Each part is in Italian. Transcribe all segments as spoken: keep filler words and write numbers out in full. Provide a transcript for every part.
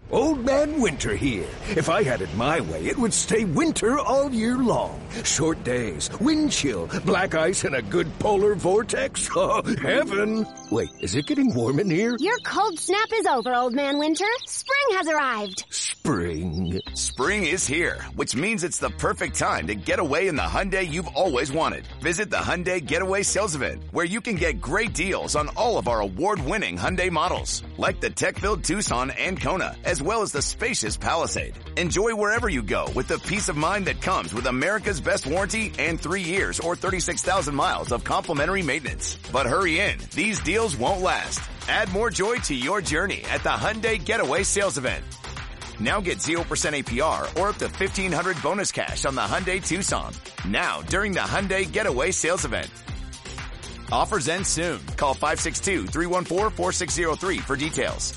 Old Man Winter here. If I had it my way, it would stay winter all year long. Short days, wind chill, black ice, and a good polar vortex. Oh, heaven! Wait, is it getting warm in here? Your cold snap is over, Old Man Winter. Spring has arrived. Spring. Spring is here, which means it's the perfect time to get away in the Hyundai you've always wanted. Visit the Hyundai Getaway Sales Event, where you can get great deals on all of our award-winning Hyundai models, like the tech-filled Tucson and Kona, as well as the spacious Palisade. Enjoy wherever you go with the peace of mind that comes with America's best warranty and three years or thirty-six thousand miles of complimentary maintenance. But hurry in, these deals won't last. Add more joy to your journey at the Hyundai Getaway Sales Event. Now get zero percent A P R or up to fifteen hundred dollars bonus cash on the Hyundai Tucson. Now, during the Hyundai Getaway Sales Event. Offers end soon. Call five six two, three one four, four six zero three for details.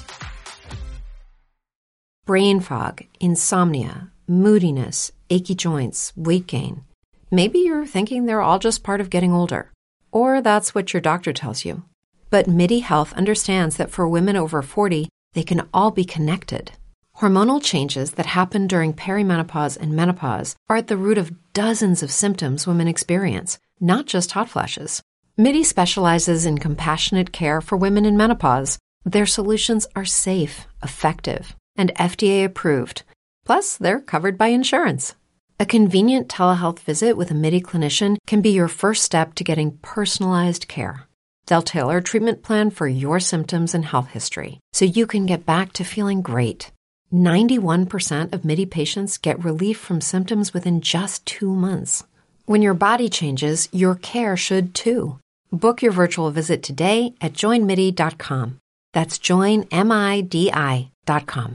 Brain fog, insomnia, moodiness, achy joints, weight gain. Maybe you're thinking they're all just part of getting older. Or that's what your doctor tells you. But MIDI Health understands that for women over forty, they can all be connected. Hormonal changes that happen during perimenopause and menopause are at the root of dozens of symptoms women experience, not just hot flashes. MIDI specializes in compassionate care for women in menopause. Their solutions are safe, effective, and F D A approved. Plus, they're covered by insurance. A convenient telehealth visit with a MIDI clinician can be your first step to getting personalized care. They'll tailor a treatment plan for your symptoms and health history, so you can get back to feeling great. ninety-one percent of MIDI patients get relief from symptoms within just two months. When your body changes, your care should too. Book your virtual visit today at join midi dot com. That's join midi dot com.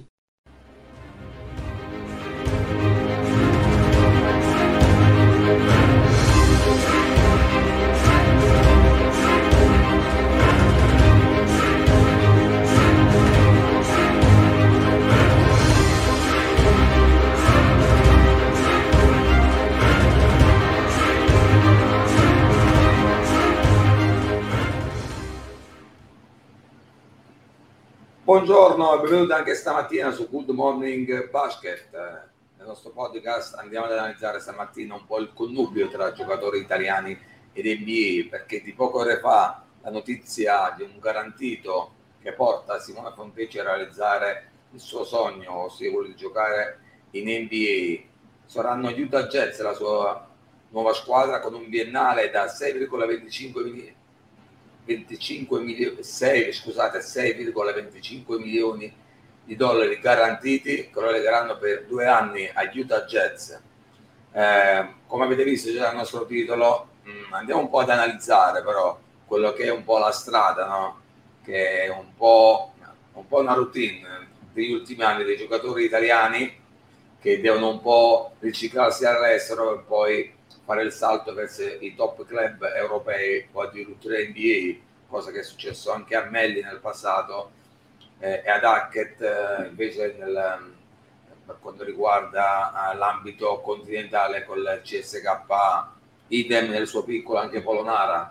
Buongiorno e benvenuti anche stamattina su Good Morning Basket. Nel nostro podcast andiamo ad analizzare stamattina un po' il connubio tra giocatori italiani ed N B A, perché di poche ore fa la notizia di un garantito che porta Simone Fontecchi a realizzare il suo sogno, ossia quello di giocare in N B A. Saranno Utah Jazz la sua nuova squadra con un biennale da sei virgola venticinque milioni venticinque milioni, sei, scusate, sei virgola venticinque milioni di dollari garantiti, che lo legheranno per due anni agli Utah Jazz. Eh, come avete visto già nel nostro titolo, mh, andiamo un po' ad analizzare però quello che è un po' la strada, no? Che è un po', un po' una routine degli ultimi anni dei giocatori italiani che devono un po' riciclarsi all'estero e poi fare il salto verso i top club europei o addirittura N B A, cosa che è successo anche a Melli nel passato eh, e ad Hackett eh, invece nel, per quanto riguarda eh, l'ambito continentale con il C S K A, idem nel suo piccolo anche Polonara.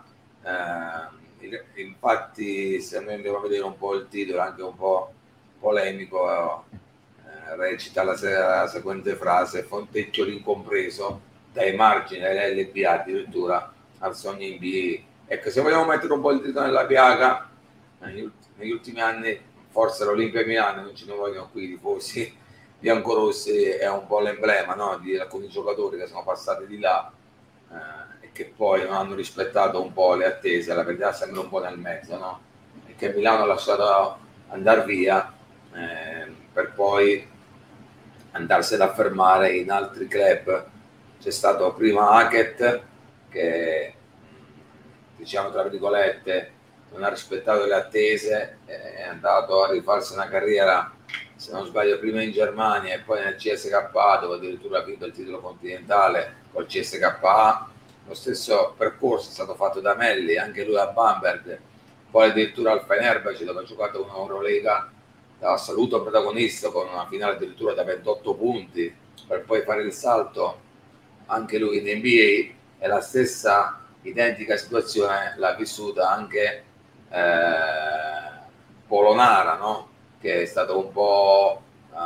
Eh, infatti se noi andiamo a vedere un po' il titolo, anche un po' polemico, eh, recita la, la seguente frase: Fontecchio l'incompreso, dai margini dell'L B A addirittura al sogno N B A. Ecco, se vogliamo mettere un po' il dito nella piaga, negli, ultimi, negli ultimi anni forse l'Olimpia Milano, non ce ne vogliono qui i tifosi biancorossi, è un po' l'emblema, no? Di alcuni giocatori che sono passati di là eh, e che poi non hanno rispettato un po' le attese. La verità sembra un po' nel mezzo, no? E che Milano ha lasciato andare via eh, per poi andarsi ad affermare in altri club. C'è stato prima Hackett che, diciamo tra virgolette, non ha rispettato le attese, è andato a rifarsi una carriera, se non sbaglio, prima in Germania e poi nel C S K A, dove addirittura ha vinto il titolo continentale col C S K A. Lo stesso percorso è stato fatto da Melli, anche lui a Bamberg, poi addirittura al Fenerbahce, dove ha giocato un'Eurolega da assoluto protagonista con una finale addirittura da ventotto punti, per poi fare il salto anche lui in N B A. E la stessa identica situazione l'ha vissuta anche eh, Polonara, no? Che è stato un po' uh,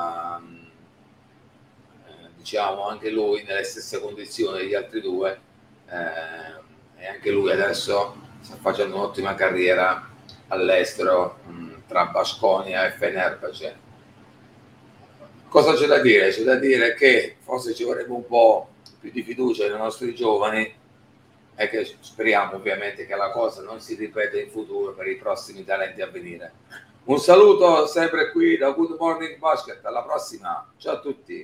diciamo, anche lui nelle stesse condizioni degli altri due, eh, e anche lui adesso sta facendo un'ottima carriera all'estero, mh, tra Baskonia e Fenerbahce. Cosa c'è da dire? C'è da dire che forse ci vorrebbe un po' più di fiducia nei nostri giovani e che speriamo ovviamente che la cosa non si ripeta in futuro per i prossimi talenti a venire. Un saluto sempre qui da Good Morning Basket, alla prossima, ciao a tutti.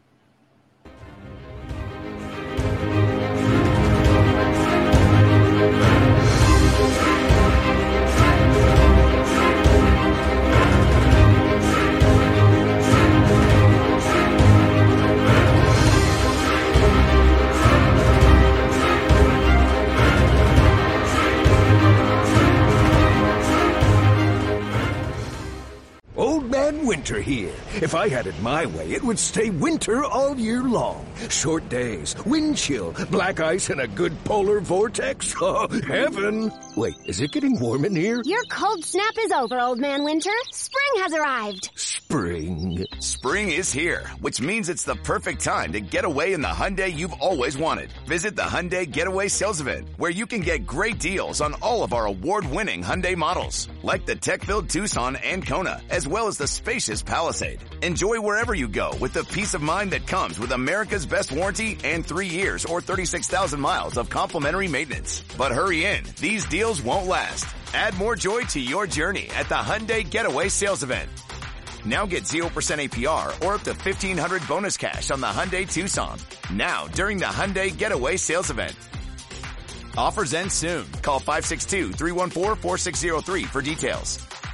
Old Man Winter here. If I had it my way, it would stay winter all year long. Short days, wind chill, black ice, and a good polar vortex. Oh, heaven! Wait, is it getting warm in here? Your cold snap is over, Old Man Winter. Spring has arrived. Spring. Spring is here, which means it's the perfect time to get away in the Hyundai you've always wanted. Visit the Hyundai Getaway Sales Event, where you can get great deals on all of our award-winning Hyundai models, like the tech-filled Tucson and Kona, as well as the spacious Palisade. Enjoy wherever you go with the peace of mind that comes with America's best warranty and three years or thirty-six thousand miles of complimentary maintenance. But hurry in, these deals won't last. Add more joy to your journey at the Hyundai Getaway Sales Event. Now get zero percent A P R or up to fifteen hundred dollars bonus cash on the Hyundai Tucson. Now, during the Hyundai Getaway Sales Event. Offers end soon. Call five six two, three one four, four six zero three for details.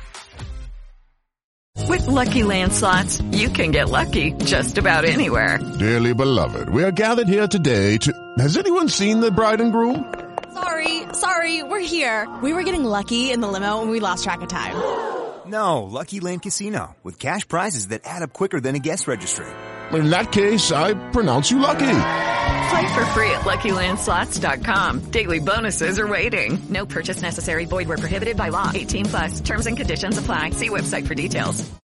With Lucky Land Slots, you can get lucky just about anywhere. Dearly beloved, we are gathered here today to... Has anyone seen the bride and groom? Sorry, sorry, we're here. We were getting lucky in the limo and we lost track of time. No, Lucky Land Casino, with cash prizes that add up quicker than a guest registry. In that case, I pronounce you lucky. Play for free at Lucky Land Slots dot com. Daily bonuses are waiting. No purchase necessary. Void where prohibited by law. eighteen plus. Terms and conditions apply. See website for details.